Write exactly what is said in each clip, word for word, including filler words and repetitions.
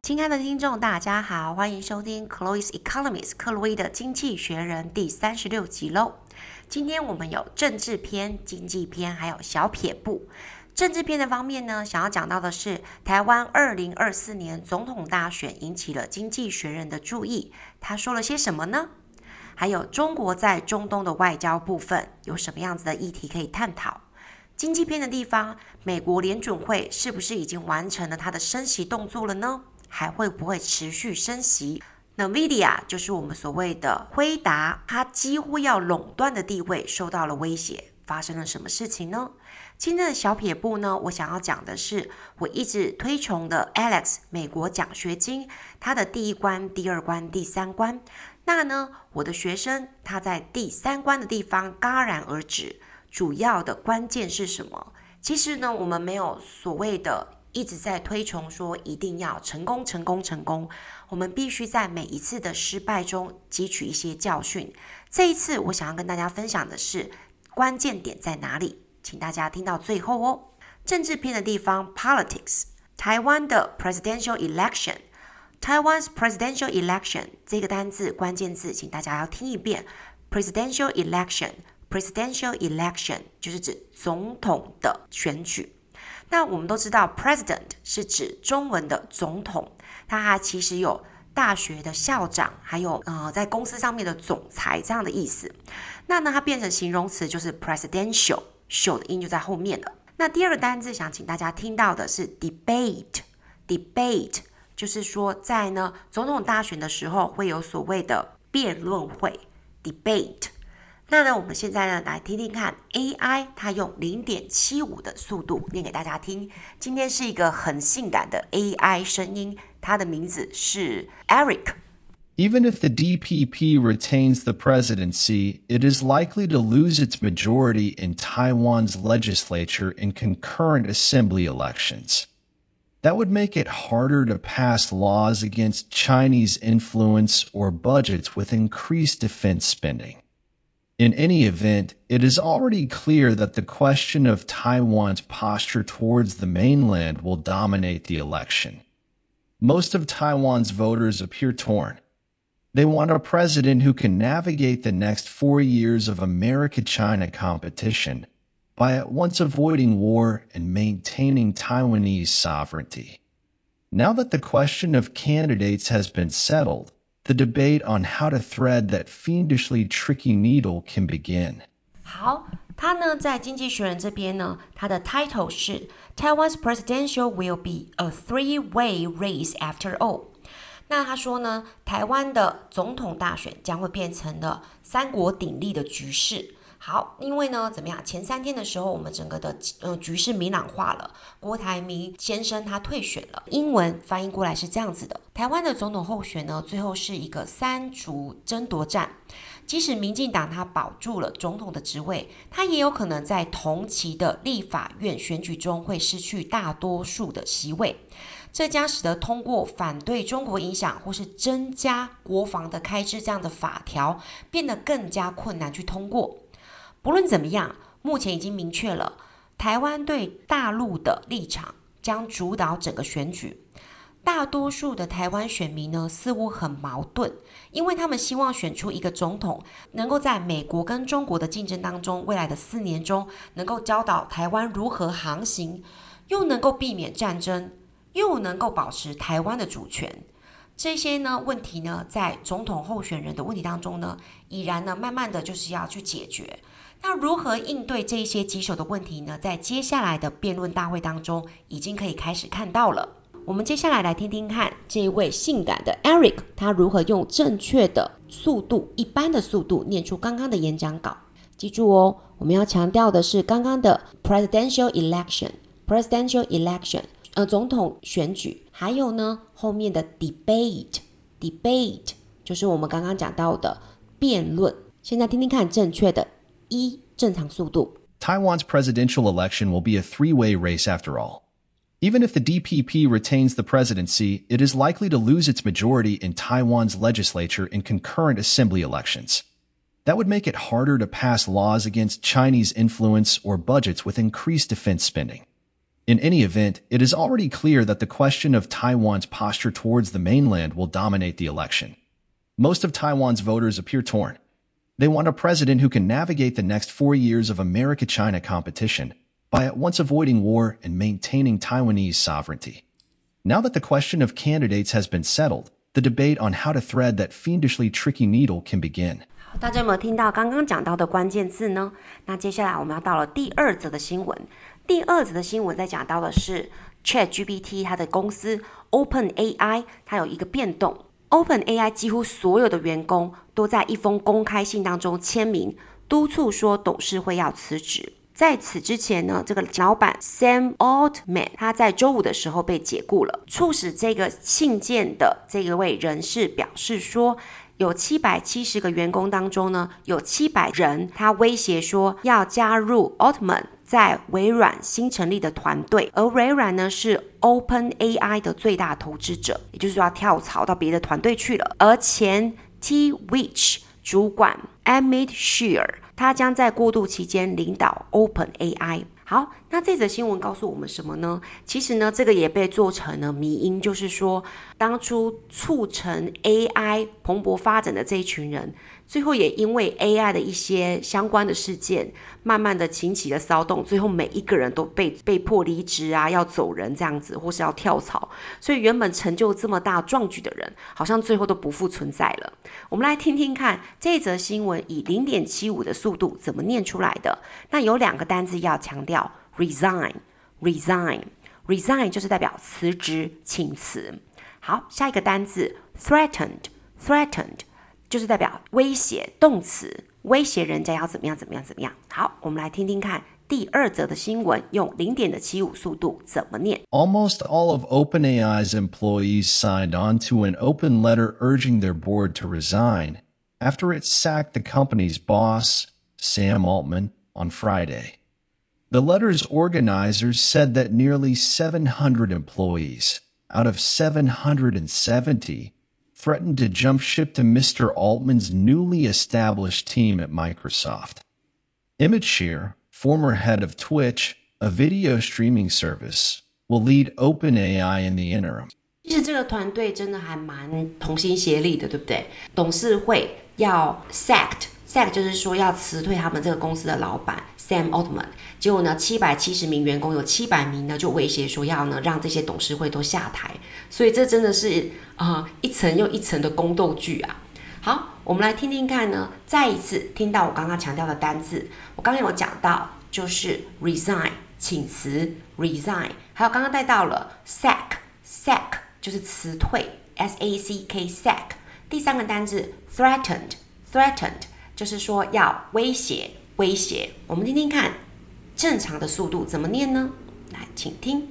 親愛的聽眾，大家好，歡迎收聽 Chloe's Economics 克洛伊的經濟學人第三十六集嘍。今天我們有政治篇、經濟篇，還有小撇步。政治篇的方面呢，想要講到的是台灣二零二四年總統大選引起了經濟學人的注意，他說了些什麼呢？還有中國在中東的外交部分有什麼樣子的議題可以探討？經濟篇的地方，美國聯準會是不是已經完成了它的升息動作了呢？還會不會持續升息？ NVIDIA 就是我們所謂的輝達，它幾乎要壟斷的地位受到了威脅，發生了什麼事情呢？今天的小撇步呢，我想要講的是我一直推崇的 Alex 美國獎學金，它的第一關、第二關、第三關。那呢，我的學生他在第三關的地方戛然而止，主要的關鍵是什麼？其實呢，我們沒有所謂的一直在推崇說一定要成功成功成功，我們必須在每一次的失敗中汲取一些教訓。這一次我想要跟大家分享的是關鍵點在哪裡，請大家聽到最後哦。政治篇的地方 Politics， 台灣的 Presidential Election， Taiwan's Presidential Election 這個單字關鍵字請大家要聽一遍， Presidential Election Presidential Election 就是指總統的選舉。那我們都知道 President 是指中文的總統，它其實有大學的校長，還有呃在公司上面的總裁這樣的意思。那呢，它變成形容詞就是 Presidential， 秀的音就在後面了。那第二個單字想請大家聽到的是 Debate， Debate 就是說在呢總統大選的時候會有所謂的辯論會 Debate。那呢，我們現在呢來聽聽看 A I 它用 零點七五 的速度念給大家聽。今天是一個很性感的 A I 聲音，它的名字是 Eric。 Even if the D P P retains the presidency, it is likely to lose its majority in Taiwan's legislature in concurrent assembly elections. That would make it harder to pass laws against Chinese influence or budgets with increased defense spending.In any event, it is already clear that the question of Taiwan's posture towards the mainland will dominate the election. Most of Taiwan's voters appear torn. They want a president who can navigate the next four years of America-China competition by at once avoiding war and maintaining Taiwanese sovereignty. Now that the question of candidates has been settled,The debate on how to thread that fiendishly tricky needle can begin. 好，他呢在經濟學人這邊呢，他的 title 是 Taiwan's presidential will be a three-way race after all。那他說呢，台灣的總統大選將會變成了三國鼎立的局勢。好，因為呢，怎麼樣？前三天的時候，我們整個的呃局勢明朗化了。郭台銘先生他退選了。英文翻譯過來是這樣子的：台灣的總統候選呢，最後是一個三族爭奪戰。即使民進黨他保住了總統的職位，他也有可能在同期的立法院選舉中會失去大多數的席位。這將使得通過反對中國影響或是增加國防的開支這樣的法條變得更加困難去通過。不論怎麼樣，目前已經明確了，台灣對大陸的立場將主導整個選舉。大多數的台灣選民呢，似乎很矛盾，因為他們希望選出一個總統，能夠在美國跟中國的競爭當中，未來的四年中，能夠教導台灣如何航行，又能夠避免戰爭，又能夠保持台灣的主權。這些呢問題呢，在總統候選人的問題當中呢，已然呢，慢慢的就是要去解決。那如何應對這些棘手的問題呢？在接下來的辯論大會當中，已經可以開始看到了。我們接下來來聽聽看這一位性感的 Eric， 他如何用正確的速度、一般的速度念出剛剛的演講稿。記住哦，我們要強調的是剛剛的 Presidential Election，Presidential Election， 呃，總統選舉，還有呢後面的 Debate，Debate 就是我們剛剛講到的辯論。現在聽聽看正確的一正常速度。 Taiwan's presidential election will be a three-way race after all. Even if the D P P retains the presidency, it is likely to lose its majority in Taiwan's legislature in concurrent assembly elections. That would make it harder to pass laws against Chinese influence or budgets with increased defense spending. In any event, it is already clear that the question of Taiwan's posture towards the mainland will dominate the election. Most of Taiwan's voters appear torn. They want a president who can navigate the next four years of America-China competition by at once avoiding war and maintaining Taiwanese sovereignty. Now that the question of candidates has been settled, the debate on how to thread that fiendishly tricky needle can begin. 大家有没有聽到剛剛講到的關鍵字呢？那接下來我們要到了第二則的新聞。第二則的新聞在講到的是 ChatGPT 它的公司 OpenAI 它有一個變動。OpenAI 幾乎所有的員工都在一封公開信當中簽名，督促說董事會要辭職。在此之前呢，這個老闆 Sam Altman 他在週五的時候被解僱了，促使這個信件的這一位人士表示說，有七百七十個員工當中呢，有七百人他威脅說要加入 Altman 在微軟新成立的團隊，而微軟呢是 OpenAI 的最大投資者，也就是說要跳槽到別的團隊去了。而前 Twitch 主管 Amit Shear 他將在過渡期間領導 OpenAI。好，那這則新聞告訴我們什麼呢？其實呢，這個也被做成了迷因，就是說，當初促成 A I 蓬勃發展的這一群人，最後也因為 A I 的一些相關的事件，慢慢的引起了騷動，最後每一個人都被被迫離職啊，要走人這樣子，或是要跳槽，所以原本成就這麼大壯舉的人，好像最後都不復存在了。我們來聽聽看這則新聞以 零點七五 的速度怎麼念出來的。那有兩個單字要強調。Resign, resign, resign 就是代表辭職、請辭。好，下一個單字 threatened, threatened 就是代表威脅，動詞，威脅人家要怎麼樣怎麼樣怎麼樣。好，我們來聽聽看第二則的新聞，用 零點七五 速度怎麼念。 Almost all of OpenAI's employees signed on to an open letter urging their board to resign after it sacked the company's boss, Sam Altman, on Friday. The letter's organizers said that nearly seven hundred employees, out of seven hundred seventy, threatened to jump ship to Mister Altman's newly established team at Microsoft. Emmett Shear, former head of Twitch, a video streaming service, will lead OpenAI in the interim. 其實這個團隊真的還蠻同心協力的，對不對？董事會要 sacked。Sack 就是說要辭退他們這個公司的老闆 Sam Altman， 結果呢七百七十名員工有七百名呢就威脅說要呢讓這些董事會都下台，所以這真的是呃一層又一層的宮鬥劇啊。好，我們來聽聽看呢，再一次聽到我剛剛強調的單字，我剛剛有講到就是 resign 請辭 resign， 還有剛剛帶到了 sack sack 就是辭退 S A C K sack， 第三個單字 threatened threatened就是說要威脅威脅，我們聽聽看正常的速度怎麼念呢？來，請聽。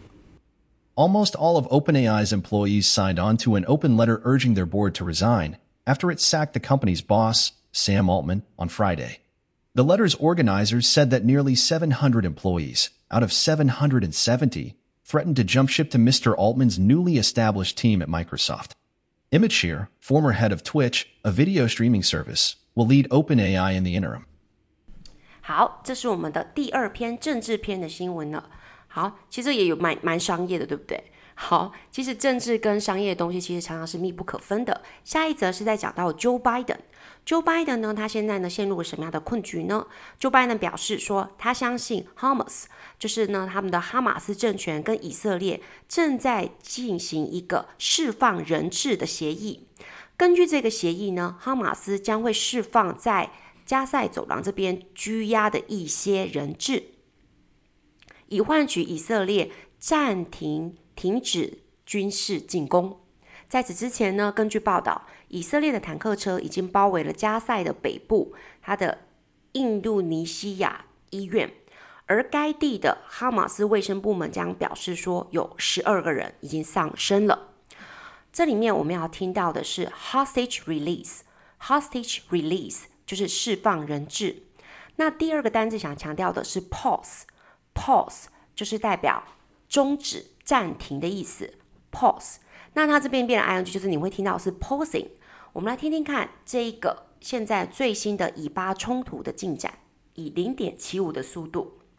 Almost all of OpenAI's employees signed on to an open letter urging their board to resign after it sacked the company's boss, Sam Altman, on Friday. The letter's organizers said that nearly seven hundred employees, out of seven hundred seventy, threatened to jump ship to Mister Altman's newly established team at Microsoft. Emmett Shear, former head of Twitch, a video streaming service, will lead OpenAI in the interim. 好，這是我們的第二篇政治篇的新聞了。好，其實也有蠻蠻商業的，對不對？好，其實政治跟商業的東西其實常常是密不可分的。下一則是在講到 Joe Biden。Joe Biden 呢，他現在呢陷入了什麼樣的困局呢？ Joe Biden 表示說，他相信 Hamas， 就是呢他們的哈馬斯政權跟以色列正在進行一個釋放人質的協議。根據這個協議呢，哈馬斯將會釋放在加塞走廊這邊拘押的一些人質，以換取以色列暫停停止軍事進攻。在此之前呢，根據報道，以色列的坦克車已經包圍了加塞的北部，它的印度尼西亞醫院，而該地的哈馬斯衛生部門將表示說，有十二個人已經喪生了。這裡面我們要聽到的是 hostage release，hostage release 就是釋放人質。那第二個單字想強調的是 pause，pause 就是代表終止、暫停的意思 ，pause。那它這邊變成 ing， 就是你會聽到是 pausing。我們來聽聽看這一個現在最新的以巴衝突的進展，以 零點七五 的速度。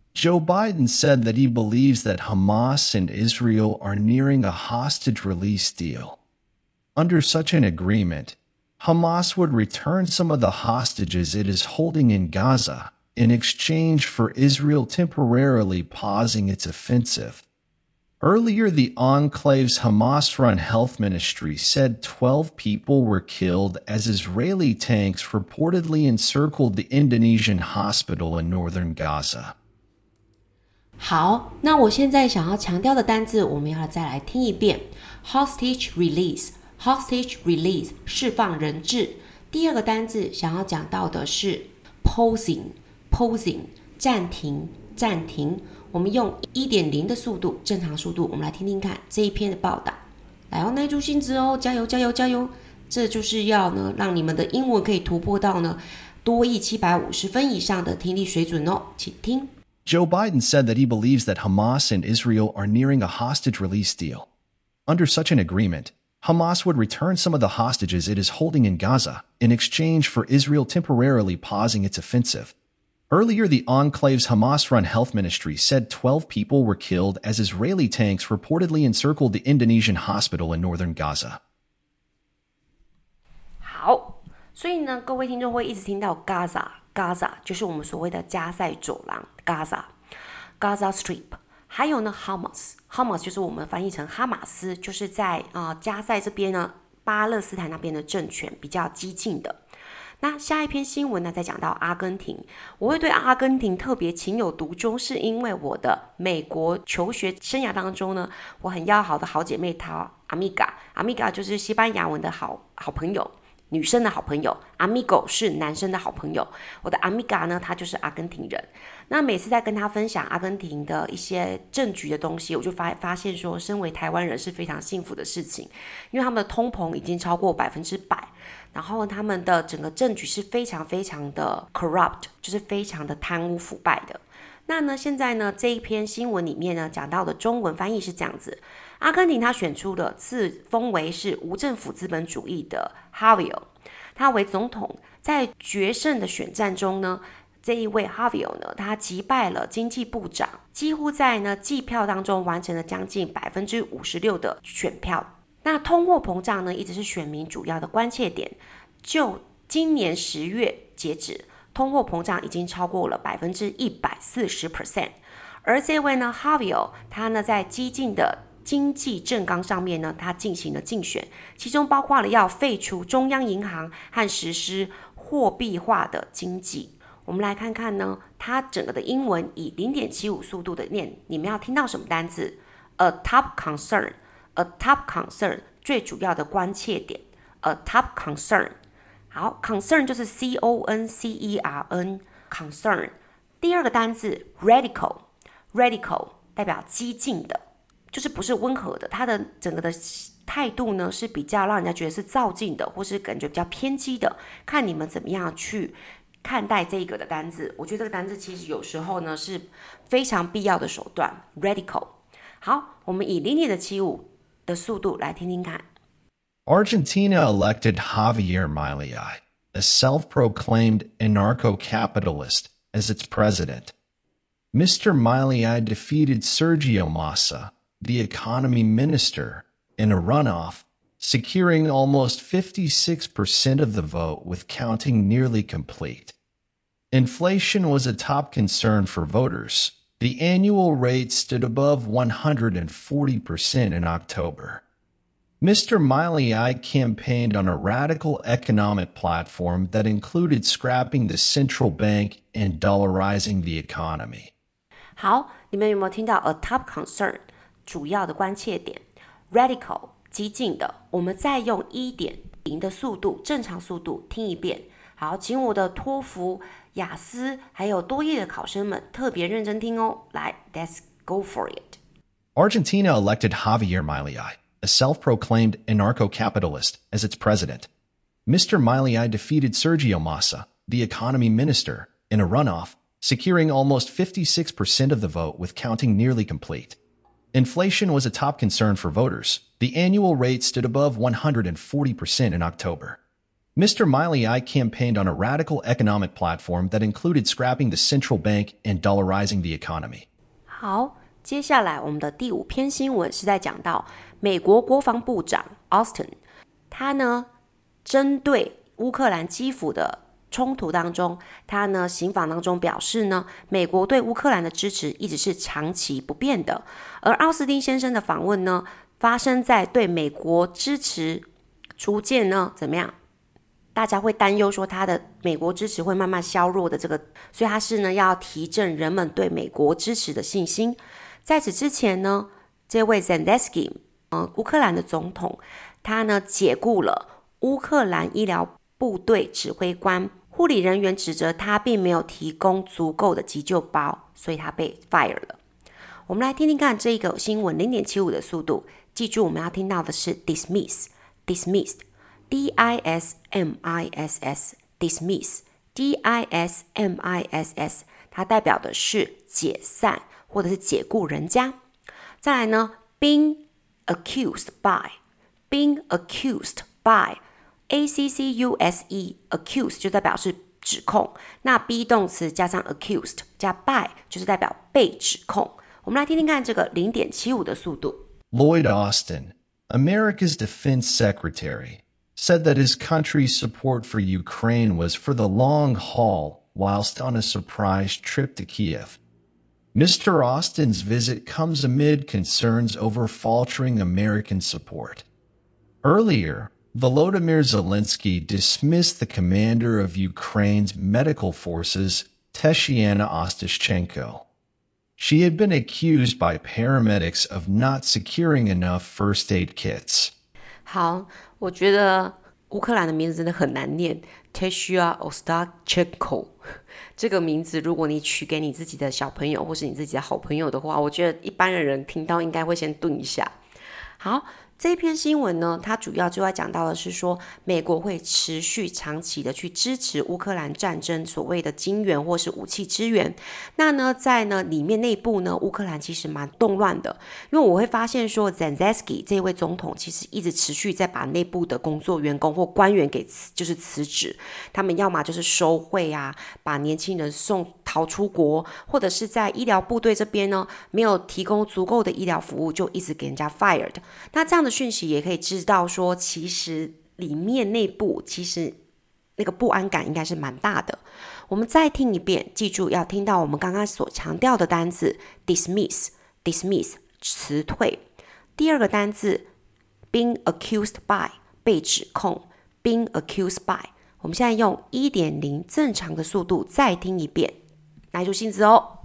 Joe Biden said that he believes that Hamas and Israel are nearing a hostage release deal. Under such an agreement, Hamas would return some of the hostages it is holding in Gaza in exchange for Israel temporarily pausing its offensive. Earlier, the enclave's Hamas-run health ministry said twelve people were killed as Israeli tanks reportedly encircled the Indonesian hospital in northern Gaza. 好，那我现在想要强調的單字，我們要再來聽一遍 Hostage release Hostage release 釋放人質。第二個單字想要講到的是 Pausing Pausing 暫停暫停。我們用 一點零 的速度，正常速度，我們來聽聽看這一篇的報道。來哦，耐住性子哦，加油加油加油！這就是要呢，讓你們的英文可以突破到呢多益七百五十分以上的聽力水準哦，請聽。 Joe Biden said that he believes that Hamas and Israel are nearing a hostage release deal. Under such an agreement, Hamas would return some of the hostages it is holding in Gaza in exchange for Israel temporarily pausing its offensive. Earlier, the enclave's Hamas-run health ministry said twelve people were killed as Israeli tanks reportedly encircled the Indonesian hospital in northern Gaza. 好，所以呢，各位听众会一直听到 Gaza，Gaza 就是我們所謂的加塞走廊 ，Gaza，Gaza Strip。還有呢 ，Hamas，Hamas 就是我們翻譯成哈馬斯，就是在啊、呃、加塞這邊呢，巴勒斯坦那邊的政權比較激進的。那下一篇新聞呢，再講到阿根廷。我會對阿根廷特別情有獨鍾，是因為我的美國求學生涯當中呢，我很要好的好姐妹她 Amiga，Amiga 就是西班牙文的好好朋友，女生的好朋友 ，Amigo 是男生的好朋友。我的 Amiga 呢，她就是阿根廷人。那每次在跟她分享阿根廷的一些政局的東西，我就發發現說，身為台灣人是非常幸福的事情，因為他們的通膨已經超過百分之百。然後他們的整個政局是非常非常的 corrupt， 就是非常的貪污腐敗的。那呢，現在呢這一篇新聞裡面呢講到的中文翻譯是這樣子：阿根廷他選出了自封為是無政府資本主義的 Javier， 他為總統，在決勝的選戰中呢，這一位 Javier 呢，他擊敗了經濟部長，幾乎在呢計票當中完成了將近百分之五十六的選票。那通貨膨脹呢，一直是選民主要的關切點。就今年十月截止，通貨膨脹已經超過了百分之一百四十 percent。而這位呢 ，Javier， 他呢在激進的經濟政綱上面呢，他進行了競選，其中包括了要廢除中央銀行和實施貨幣化的經濟。我們來看看呢，他整個的英文以 零點七五 速度的念，你們要聽到什麼單字 ？A top concern。A top concern 最主要的關切點 ，a top concern。好 ，concern 就是 C O N C E R N concern。第二個單字 radical，radical 代表激進的，就是不是溫和的，它的整個的態度呢是比較讓人家覺得是躁進的，或是感覺比較偏激的。看你們怎麼樣去看待這個的單字。我覺得這個單字其實有時候呢是非常必要的手段 ，radical。好，我們以零點七五。的速度來聽聽看。 Argentina elected Javier Milei, a self-proclaimed anarcho-capitalist, as its president. Mister Milei defeated Sergio Massa, the economy minister, in a runoff, securing almost fifty-six percent of the vote with counting nearly complete. Inflation was a top concern for voters. The annual rate stood above one hundred forty percent in October. Mister Milei campaigned on a radical economic platform that included scrapping the central bank and dollarizing the economy. 好，你們有沒有聽到 a top concern 主要的關切點 radical 激進的？我們再用 一點零 的速度，正常速度聽一遍。好，請我的托福、雅思還有多益的考生們特別認真聽哦。來 ，Let's go for it. Argentina elected Javier Milei, a self-proclaimed anarcho-capitalist, as its president. Mister Milei defeated Sergio Massa, the economy minister, in a runoff, securing almost fifty-six percent of the vote with counting nearly complete. Inflation was a top concern for voters. The annual rate stood above one hundred forty percent in October. Mister Milei campaigned on a radical economic platform that included scrapping the central bank and dollarizing the economy. 好，接下來我們的第五篇新聞是在講到美國國防部長 Austin， 他呢針對烏克蘭基輔的衝突當中，他呢行訪當中表示呢，美國對烏克蘭的支持一直是長期不變的。而奧斯汀先生的訪問呢，發生在對美國支持逐漸呢怎麼樣？大家會擔憂說他的美國支持會慢慢削弱的這個，所以他是呢要提振人們對美國支持的信心。在此之前呢，這位 Zelensky， 呃，烏克蘭的總統，他呢解僱了烏克蘭醫療部隊指揮官，護理人員指責他並沒有提供足夠的急救包，所以他被 fire 了。我們來聽聽看這個新聞 零點七五 的速度，記住我們要聽到的是 dismiss dismissed。D I S M I S S dismiss D I S M I S S 它代表的是解散或者是解僱人家。再來呢 being accused by being accused by A C C U S E accused 就代表是指控，那 be 動詞加上 accused 加 by 就是代表被指控。我們來聽聽看這個 零點七五 的速度。 Lloyd Austin, America's defense secretary, said that his country's support for Ukraine was for the long haul whilst on a surprise trip to Kiev. Mister Austin's visit comes amid concerns over faltering American support. Earlier, Volodymyr Zelensky dismissed the commander of Ukraine's medical forces, Tatiana Ostashchenko. She had been accused by paramedics of not securing enough first aid kits. 好，我覺得烏克蘭的名字真的很難念 Tatiana Ostashchenko 這個名字如果你取給你自己的小朋友或是你自己的好朋友的話，我覺得一般的人聽到應該會先頓一下。好，這篇新聞呢，它主要就要講到的是說，美國會持續長期的去支持烏克蘭戰爭所謂的金援或是武器支援。那呢，在呢裡面內部呢，烏克蘭其實蠻動亂的，因為我會發現說 Zelensky 這位總統其實一直持續在把內部的工作員工或官員給就是辭職，他們要麼就是收賄啊，把年輕人送逃出國，或者是在醫療部隊這邊呢沒有提供足夠的醫療服務，就一直給人家 fired。那這樣的訊息也可以知道說，其實裡面內部其實那個不安感應該是蠻大的。我們再聽一遍，記住要聽到我們剛剛所強調的單字 dismiss dismiss 辭退。第二個單字 being accused by 被指控 being accused by。我們現在用 一點零 正常的速度再聽一遍，耐住性子哦。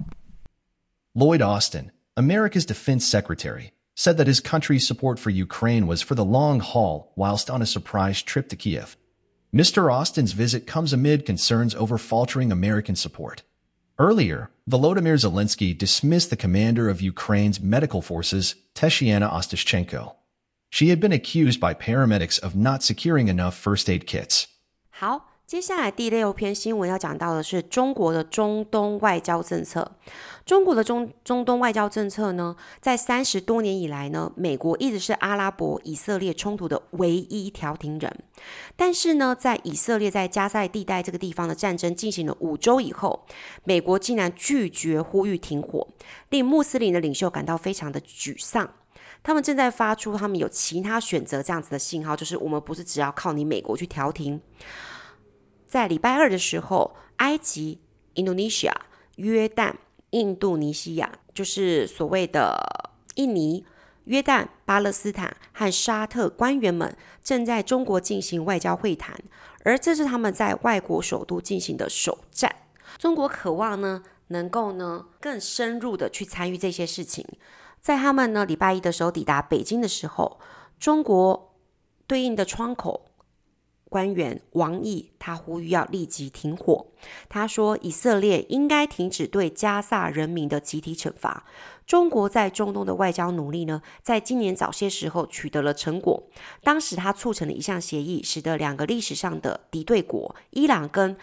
Lloyd Austin, America's defense secretary, said that his country's support for Ukraine was for the long haul whilst on a surprise trip to Kiev. Mister Austin's visit comes amid concerns over faltering American support. Earlier, Volodymyr Zelensky dismissed the commander of Ukraine's medical forces, Tatiana Ostashchenko. She had been accused by paramedics of not securing enough first aid kits. 好，接下來第六篇新聞要講到的是中國的中東外交政策。中國的中中東外交政策呢，在三十多年以來呢，美國一直是阿拉伯以色列衝突的唯一調停人。但是呢，在以色列在加賽地帶這個地方的戰爭進行了五周以後，美國竟然拒絕呼籲停火，令穆斯林的領袖感到非常的沮喪。他們正在發出他們有其他選擇這樣子的信號，就是我們不是只要靠你美國去調停。在禮拜二的時候，埃及、Indonesia、約旦、印度尼西亞，就是所謂的印尼、約旦、巴勒斯坦和沙特官員們正在中國進行外交會談，而這是他們在外國首都進行的首戰。中國渴望呢，能夠呢更深入的去參與這些事情。在他們呢禮拜一的時候抵達北京的時候，中國對應的窗口官員王毅，他呼籲要立即停火。他說，以色列應該停止對加薩人民的集體懲罰。中國在中東的外交努力呢，在今年早些時候取得了成果。當時他促成了一項協議，使得兩個歷史上的敵對國伊朗跟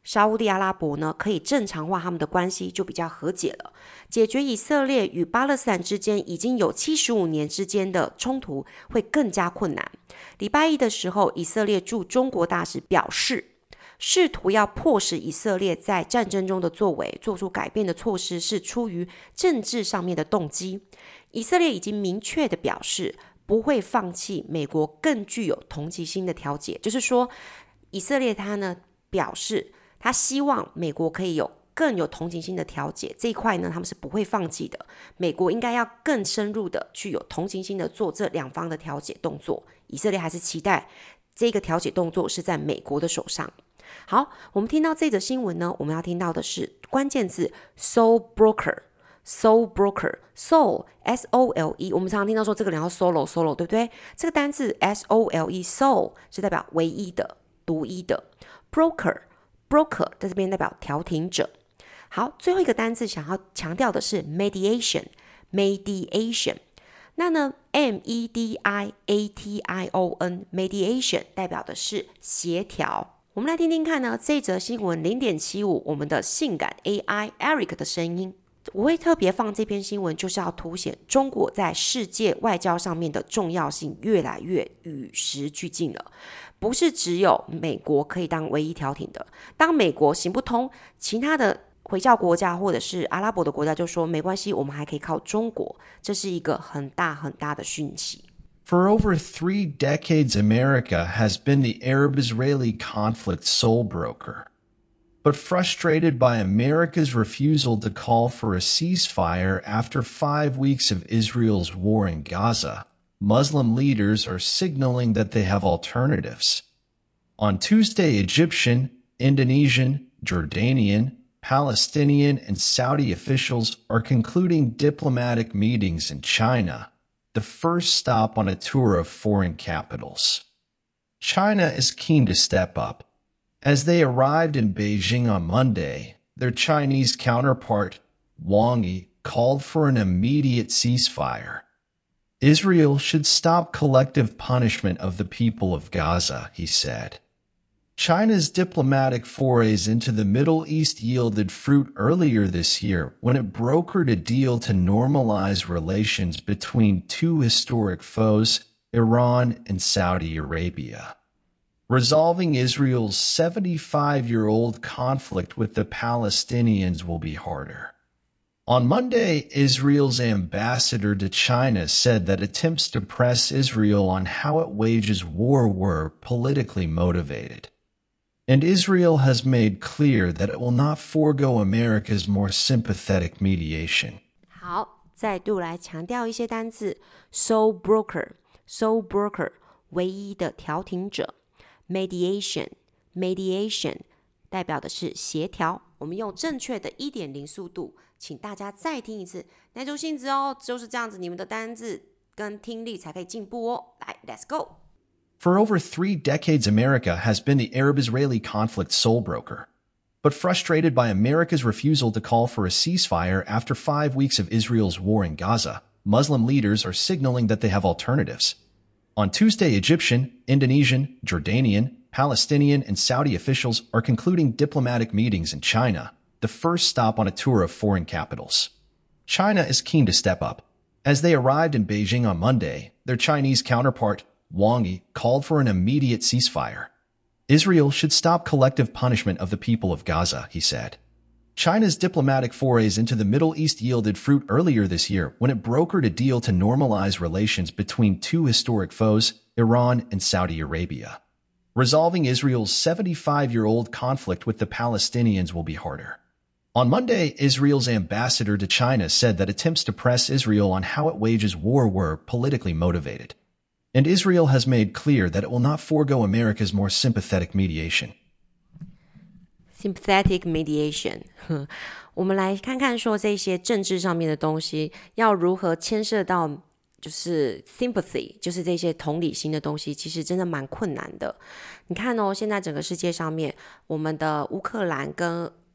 沙烏地阿拉伯呢可以正常化他們的關係，就比較和解了。解決以色列與巴勒斯坦之間已經有七十五年之間的衝突會更加困難。禮拜一的時候，以色列駐中國大使表示，試圖要迫使以色列在戰爭中的作為做出改變的措施是出於政治上面的動機。以色列已經明確的表示不會放棄美國更具有同情心的調解，就是說以色列他呢表示他希望美國可以有更有同情心的調解，這一塊呢他們是不會放棄的。美國應該要更深入的去有同情心的做這兩方的調解動作，以色列還是期待這個調解動作是在美國的手上。好，我們聽到這則新聞呢，我們要聽到的是關鍵字 soul broker soul broker soul S O L E， 我們常常聽到說這個人要 solo solo 對不對？這個單字 S O L E soul 是代表唯一的獨一的， broker broker 在這邊代表調停者。好，最後一個單字想要強調的是 mediation mediation， 那呢 M E D I A T I O N mediation 代表的是協調。我們來聽聽看呢，這則新聞 零點七五 我們的性感 A I Eric 的聲音。我會特別放這篇新聞，就是要凸顯中國在世界外交上面的重要性越來越與時俱進了。不是只有美國可以當唯一調停的，當美國行不通，其他的回教國家或者是阿拉伯的國家就說沒關係，我們還可以靠中國，這是一個很大很大的訊息。 For over three decades, America has been the Arab-Israeli conflict sole broker. But frustrated by America's refusal to call for a ceasefire after five weeks of Israel's war in Gaza, Muslim leaders are signaling that they have alternatives. On Tuesday, Egyptian, Indonesian, Jordanian, Palestinian, and Saudi officials are concluding diplomatic meetings in China, the first stop on a tour of foreign capitals. China is keen to step up. As they arrived in Beijing on Monday, their Chinese counterpart, Wang Yi, called for an immediate ceasefire. Israel should stop collective punishment of the people of Gaza, he said. China's diplomatic forays into the Middle East yielded fruit earlier this year when it brokered a deal to normalize relations between two historic foes, Iran and Saudi Arabia. Resolving Israel's seventy-five-year-old conflict with the Palestinians will be harder. On Monday, Israel's ambassador to China said that attempts to press Israel on how it wages war were politically motivated. And Israel has made clear that it will not forego America's more sympathetic mediation. 好，再度來強調一些單字 sole broker sole broker 唯一的調停者。Mediation, mediation 代表的是協調。我們用正確的 一點零 速度，請大家再聽一次，耐住性子哦，就是這樣子，你們的單字跟聽力才可以進步哦。來 ，Let's go. For over three decades, America has been the Arab-Israeli conflict sole broker. But frustrated by America's refusal to call for a ceasefire after five weeks of Israel's war in Gaza, Muslim leaders are signaling that they have alternatives. On Tuesday, Egyptian, Indonesian, Jordanian, Palestinian, and Saudi officials are concluding diplomatic meetings in China, the first stop on a tour of foreign capitals. China is keen to step up. As they arrived in Beijing on Monday, their Chinese counterpart, Wang Yi, called for an immediate ceasefire. Israel should stop collective punishment of the people of Gaza, he said. China's diplomatic forays into the Middle East yielded fruit earlier this year when it brokered a deal to normalize relations between two historic foes, Iran and Saudi Arabia. Resolving Israel's seventy-five-year-old conflict with the Palestinians will be harder. On Monday, Israel's ambassador to China said that attempts to press Israel on how it wages war were politically motivated. And Israel has made clear that it will not forego America's more sympathetic mediation. Sympathetic mediation 我們來看看說這些政治上面的東西要如何牽涉到就是 sympathy 就是這些同理心的東西，其實真的蠻困難的。你看哦，現在整個世界上面我們的烏克蘭跟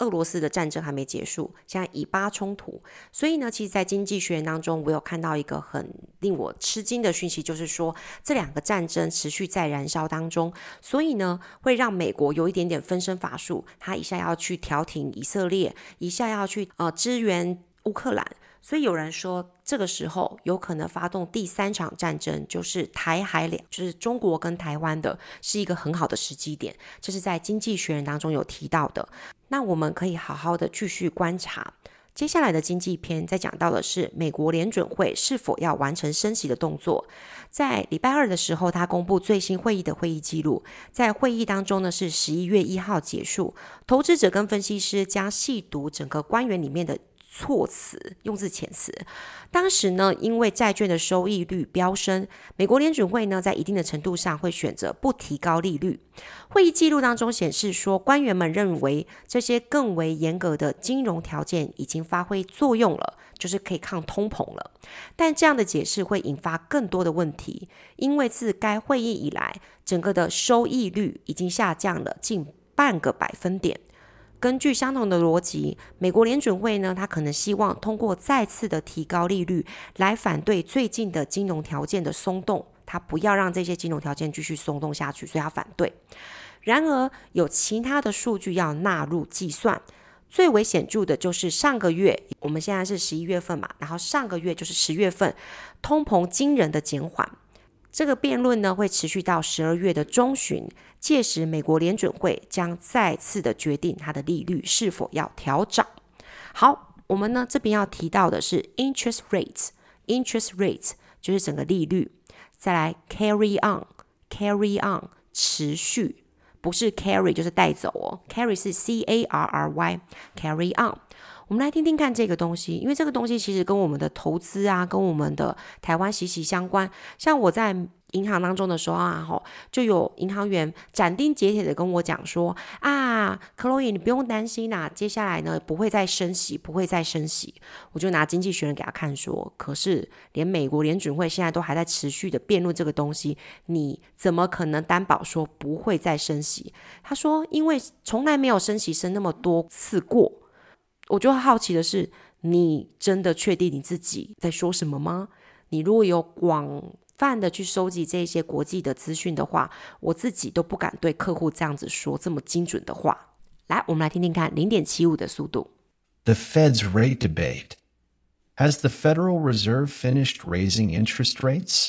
俄羅斯的戰爭還沒結束，現在以巴衝突，所以呢，其實在經濟學人當中，我有看到一個很令我吃驚的訊息，就是說這兩個戰爭持續在燃燒當中，所以呢，會讓美國有一點點分身乏術，他一下要去調停以色列，一下要去呃支援烏克蘭。所以有人說，這個時候有可能發動第三場戰爭，就是台海兩，就是中國跟台灣的，是一個很好的時機點。這是在經濟學人當中有提到的。那我們可以好好的繼續觀察。接下來的經濟篇在講到的是美國聯準會是否要完成升息的動作。在禮拜二的時候，他公布最新會議的會議記錄。在會議當中呢，是十一月一號結束，投資者跟分析師將細讀整個官員裡面的措辭，用字遣詞。當時呢，因為債券的收益率飆升，美國聯準會呢在一定的程度上會選擇不提高利率。會議記錄當中顯示說，官員們認為這些更為嚴格的金融條件已經發揮作用了，就是可以抗通膨了。但這樣的解釋會引發更多的問題，因為自該會議以來，整個的收益率已經下降了近半個百分點。根據相同的邏輯，美國聯準會呢，他可能希望通過再次的提高利率來反對最近的金融條件的鬆動，他不要讓這些金融條件繼續鬆動下去，所以他反對。然而，有其他的數據要納入計算，最為顯著的就是上個月，我們現在是十一月份嘛，然後上個月就是十月份，通膨驚人的減緩。這個辯論呢會持續到十二月的中旬，屆時美國聯準會將再次的決定它的利率是否要調漲。好，我們呢這邊要提到的是 interest rates，interest rates 就是整個利率。再來 carry on，carry on 持續，不是 carry 就是帶走哦 ，carry 是 C A R R Y，carry on。我們來聽聽看這個東西，因為這個東西其實跟我們的投資啊，跟我們的台灣息息相關。像我在銀行當中的時候啊，就有銀行員斬釘截鐵的跟我講說啊 Chloe 你不用擔心啦、啊，接下來呢不會再升息，不會再升息。我就拿經濟學人給他看說，可是連美國聯準會現在都還在持續的辯論這個東西，你怎麼可能擔保說不會再升息？他說，因為從來沒有升息升那麼多次過。我就好奇的是，你真的確定你自己在說什麼嗎？你如果有廣泛的去收集這些國際的資訊的話，我自己都不敢對客戶這樣子說這麼精準的話。來，我們來聽聽看 零點七五 的速度。 The Fed's rate debate. Has the Federal Reserve finished raising interest rates?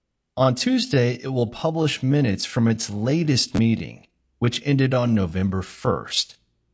On Tuesday, it will publish minutes from its latest meeting, which ended on November first.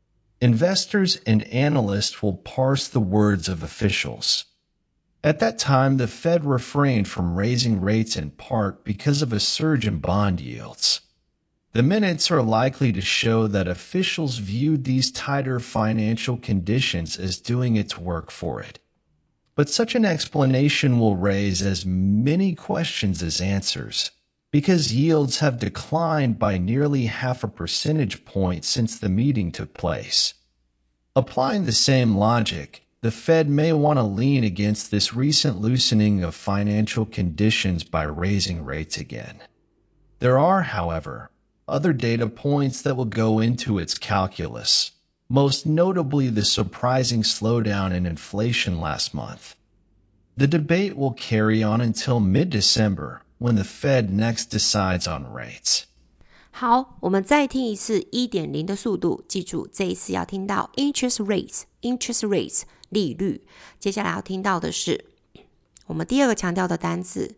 Investors and analysts will parse the words of officials. At that time, the Fed refrained from raising rates in part because of a surge in bond yields. The minutes are likely to show that officials viewed these tighter financial conditions as doing its work for it. But such an explanation will raise as many questions as answers, because yields have declined by nearly half a percentage point since the meeting took place. Applying the same logic, the Fed may want to lean against this recent loosening of financial conditions by raising rates again. There are, however, other data points that will go into its calculus, most notably the surprising slowdown in inflation last month. The debate will carry on until mid-December, when the Fed next decides on rates. 好，我們再聽一次 一點零 的速度，記住這一次要聽到 interest rates, interest rates 利率。接下來要听到的是我們第二個強調的單字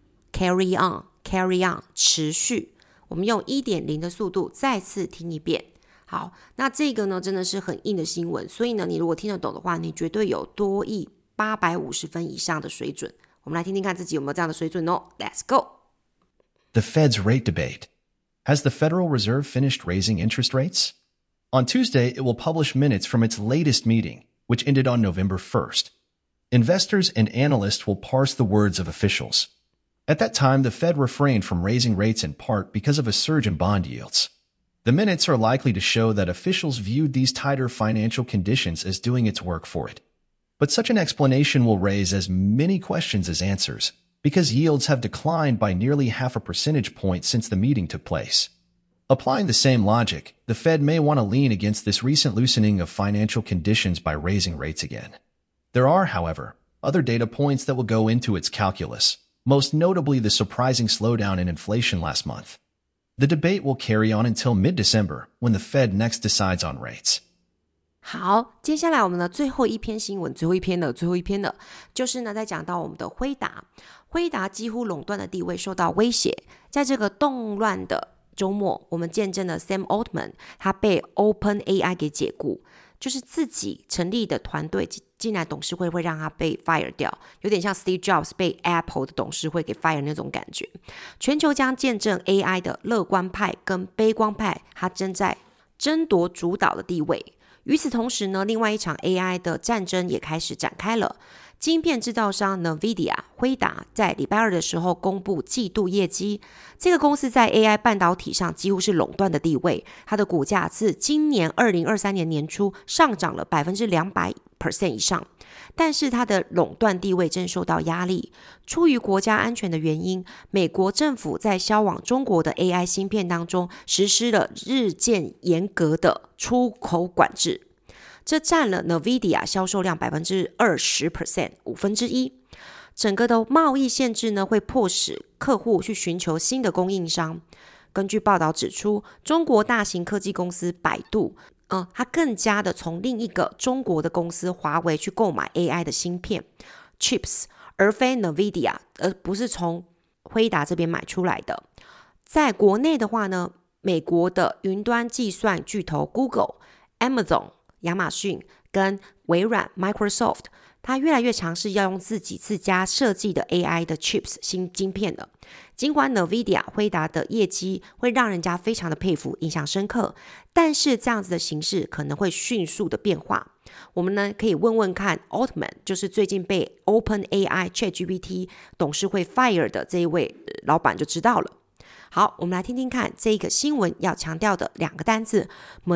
carry on, carry on 持續。我們用 一點零 的速度再次聽一遍。好，那這個呢真的是很硬的新聞，所以呢你如果聽得懂的話，你絕對有多益八百五十分以上的水準。我們來聽聽看自己有沒有這樣的水準哦。Let's go. The Fed's rate debate. Has the Federal Reserve finished raising interest rates? On Tuesday, it will publish minutes from its latest meeting, which ended on November first. Investors and analysts will parse the words of officials. At that time, the Fed refrained from raising rates in part because of a surge in bond yields. The minutes are likely to show that officials viewed these tighter financial conditions as doing its work for it. But such an explanation will raise as many questions as answers, because yields have declined by nearly half a percentage point since the meeting took place. Applying the same logic, the Fed may want to lean against this recent loosening of financial conditions by raising rates again. There are, however, other data points that will go into its calculus, most notably the surprising slowdown in inflation last month. The debate will carry on until mid-December, when the Fed next decides on rates. 好，接下來我們的最後一篇新聞，最後一篇的最後一篇的，就是呢，在講到我們的輝達，輝達幾乎壟斷的地位受到威脅，在這個動亂的週末，我們見證了 Sam Altman 他被 OpenAI 給解雇，就是自己成立的團隊進來董事會會讓他被 fire 掉，有點像 Steve Jobs 被 Apple 的董事會給 fire 那種感覺。全球將見證 A I 的樂觀派跟悲觀派，他正在爭奪主導的地位。與此同時呢，另外一場 A I 的戰爭也開始展開了。晶片製造商 NVIDIA 輝達在禮拜二的時候公布季度業績，這個公司在 A I 半導體上幾乎是壟斷的地位，它的股價自今年二零二三年年初上漲了 百分之兩百 以上，但是它的壟斷地位正受到壓力。出於國家安全的原因，美國政府在銷往中國的 A I 芯片當中實施了日漸嚴格的出口管制，這佔了 NVIDIA 銷售量 百分之二十， 五分之一。整個的貿易限制呢，會迫使客戶去尋求新的供應商。根據報道指出，中國大型科技公司百度嗯，它更加的從另一個中國的公司華為去購買 A I 的芯片 chips， 而非 NVIDIA， 而不是從輝達這邊買出來的。在國內的話呢，美國的雲端計算巨頭 Google、Amazon、亞馬遜跟微軟 Microsoft， 它越來越嘗試要用自己自家設計的 A I 的 chips 新晶片了。儘管 NVIDIA 輝達的業績會讓人家非常的佩服，印象深刻，但是這樣子的形勢可能會迅速的變化。我們呢可以問問看 Altman， 就是最近被 OpenAI ChatGPT 董事會 fire 的這一位老闆就知道了。好，我們來聽聽看這個新聞要強調的兩個單字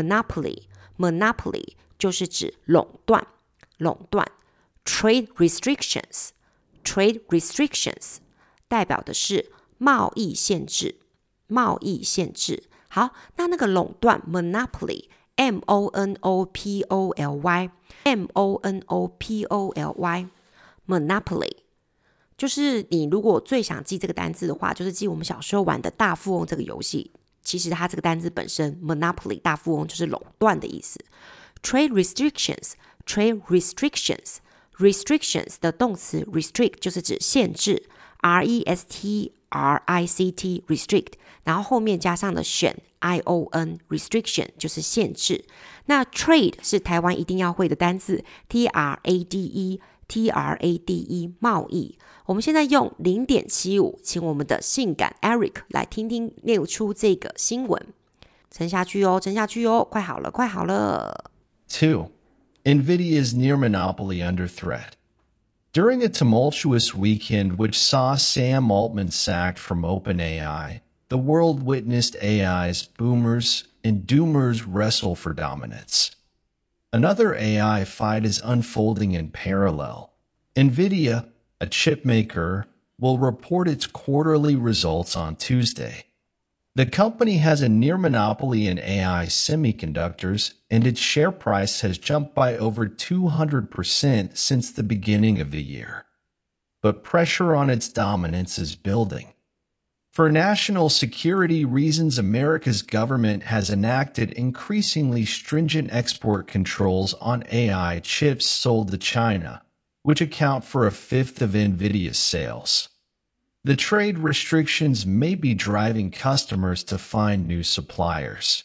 Monopoly。Monopoly 就是指壟斷，壟斷 Trade restrictions Trade restrictions 代表的是貿易限制，貿易限制。好，那那個壟斷 Monopoly M O N O P O L Y M O N O P O L Y Monopoly 就是你如果最想記這個單字的話，就是記我們小時候玩的大富翁這個遊戲。其實它這個單字本身 Monopoly 大富翁就是壟斷的意思。Trade restrictions Trade restrictions Restrictions 的動詞 restrict 就是指限制 R E S T R I C T Restrict， 然後後面加上了選 I O N Restriction 就是限制。那 Trade 是台灣一定要會的單字 T R A D E T R A D E 貿易。我們現在用 零點七五 請我們的性感 Eric 來聽聽念出這個新聞。沉下去哦，沉下去哦，快好了，快好了。 Two, NVIDIA's near monopoly under threat. During a tumultuous weekend which saw Sam Altman sacked from OpenAI, the world witnessed A I's boomers and doomers wrestle for dominance. Another A I fight is unfolding in parallel. NVIDIA, a chip maker, will report its quarterly results on Tuesday. The company has a near monopoly in A I semiconductors, and its share price has jumped by over two hundred percent since the beginning of the year. But pressure on its dominance is building. For national security reasons, America's government has enacted increasingly stringent export controls on A I chips sold to China, which account for a fifth of NVIDIA's sales. The trade restrictions may be driving customers to find new suppliers.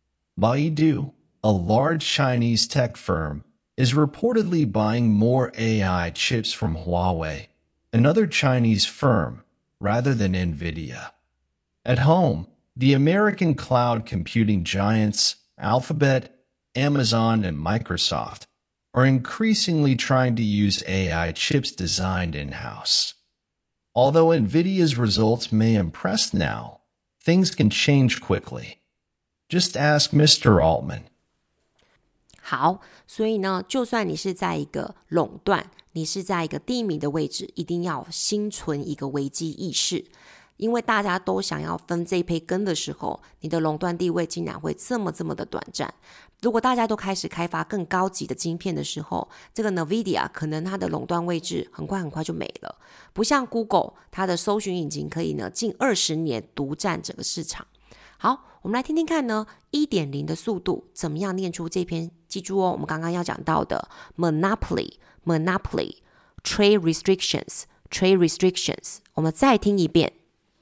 Baidu, a large Chinese tech firm, is reportedly buying more A I chips from Huawei, another Chinese firm, rather than NVIDIA. At home, the American cloud computing giants, Alphabet, Amazon, and Microsoft, are increasingly trying to use A I chips designed in-house. Although NVIDIA's results may impress now, things can change quickly. Just ask Mister Altman. 好，所以呢，就算你是在一個壟斷，你是在一個低迷的位置，一定要心存一個危機意識。 因為大家都想要分這一杯羹的時候，你的壟斷地位竟然會這麼這麼的短暫。如果大家都開始開發更高級的晶片的時候，這個 NVIDIA 可能它的壟斷位置很快很快就沒了。不像 Google， 它的搜尋引擎可以呢近二十年獨佔整個市場。好，我們來聽聽看呢 一點零 的速度怎麼樣念出這篇，記住哦，我們剛剛要講到的 monopoly monopoly trade restrictions trade restrictions， 我們再聽一遍。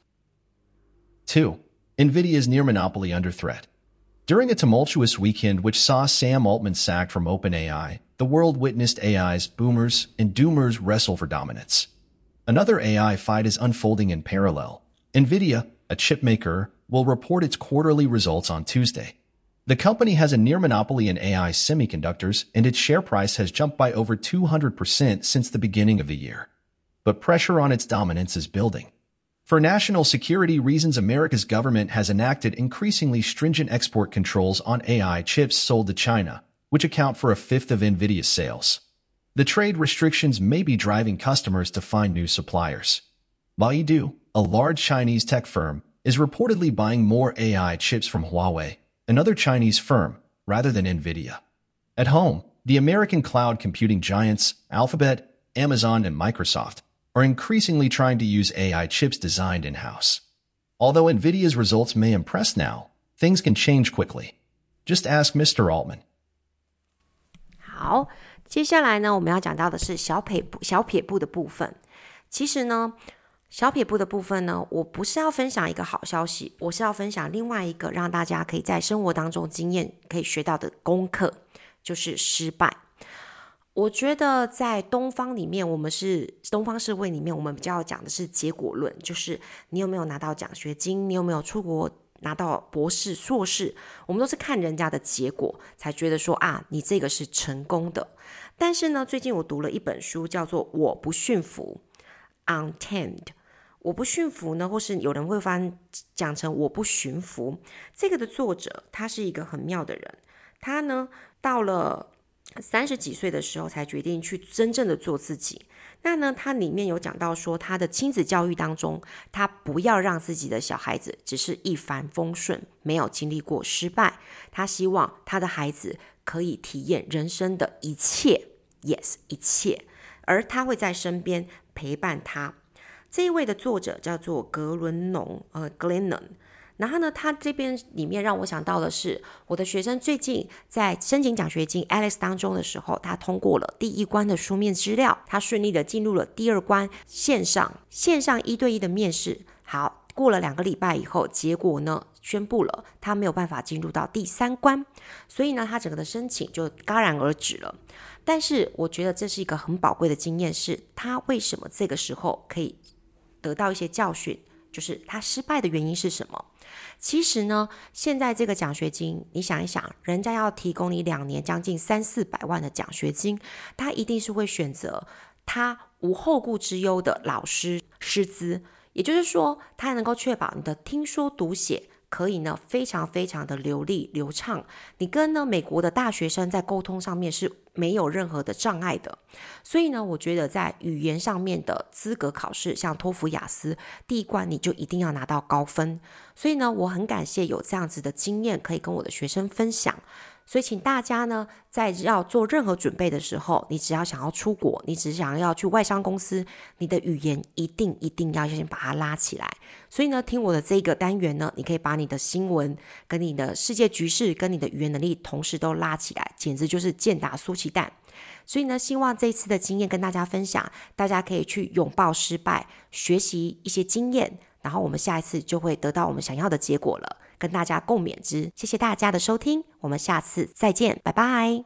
Two, NVIDIA's near monopoly under threat. During a tumultuous weekend which saw Sam Altman sacked from OpenAI, the world witnessed A I's boomers and doomers wrestle for dominance. Another A I fight is unfolding in parallel. NVIDIA, a chip maker, will report its quarterly results on Tuesday. The company has a near monopoly in A I semiconductors, and its share price has jumped by over two hundred percent since the beginning of the year. But pressure on its dominance is building. For national security reasons, America's government has enacted increasingly stringent export controls on A I chips sold to China, which account for a fifth of NVIDIA's sales. The trade restrictions may be driving customers to find new suppliers. Baidu, a large Chinese tech firm, is reportedly buying more A I chips from Huawei, another Chinese firm, rather than NVIDIA. At home, the American cloud computing giants, Alphabet, Amazon, and Microsoft, are increasingly trying to use A I chips designed in-house. Although NVIDIA's results may impress now, things can change quickly. Just ask Mister Altman. 好，接下來呢，我們要講到的是小撇步小撇步的部分。其實呢，小撇步的部分呢，我不是要分享一個好消息，我是要分享另外一個讓大家可以在生活當中經驗可以學到的功課，就是失敗。我覺得在東方裡面，我們是東方社會裡面，我們比較講的是結果論，就是你有沒有拿到獎學金，你有沒有出國拿到博士、碩士，我們都是看人家的結果才覺得說啊，你這個是成功的。但是呢，最近我讀了一本書，叫做《我不馴服》（Untamed）。我不馴服呢，或是有人會翻講成我不馴服。這個的作者他是一個很妙的人，他呢到了三十幾歲的時候才決定去真正的做自己。那呢，他裡面有講到說，他的親子教育當中，他不要讓自己的小孩子只是一帆風順，沒有經歷過失敗。他希望他的孩子可以體驗人生的一切 ，yes， 一切，而他會在身邊陪伴他。這一位的作者叫做格倫農，呃 ，Glennon。然後呢，他這邊裡面讓我想到的是，我的學生最近在申請獎學金 Alex 當中的時候，他通過了第一關的書面資料，他順利的進入了第二關線上線上一對一的面試。好，過了兩個禮拜以後，結果呢宣布了，他沒有辦法進入到第三關，所以呢，他整個的申請就戛然而止了。但是我覺得這是一個很寶貴的經驗，是他為什麼這個時候可以得到一些教訓，就是他失敗的原因是什麼？其實呢，現在這個獎學金，你想一想，人家要提供你兩年將近三四百萬的獎學金，他一定是會選擇他無後顧之憂的老師師資，也就是說，他能夠確保你的聽說讀寫可以呢非常非常的流利流暢，你跟呢美國的大學生在溝通上面是沒有任何的障礙的。所以呢，我覺得在語言上面的資格考試，像托福、雅思，第一關你就一定要拿到高分。所以呢，我很感謝有這樣子的經驗可以跟我的學生分享。所以請大家呢，在要做任何準備的時候，你只要想要出國，你只想要去外商公司，你的語言一定一定要先把它拉起來。所以呢，聽我的這個單元呢，你可以把你的新聞、跟你的世界局勢、跟你的語言能力同時都拉起來，簡直就是健達蘇奇蛋。所以呢，希望這一次的經驗跟大家分享，大家可以去擁抱失敗，學習一些經驗，然後我們下一次就會得到我們想要的結果了，跟大家共勉之。謝謝大家的收聽，我們下次再見，拜拜。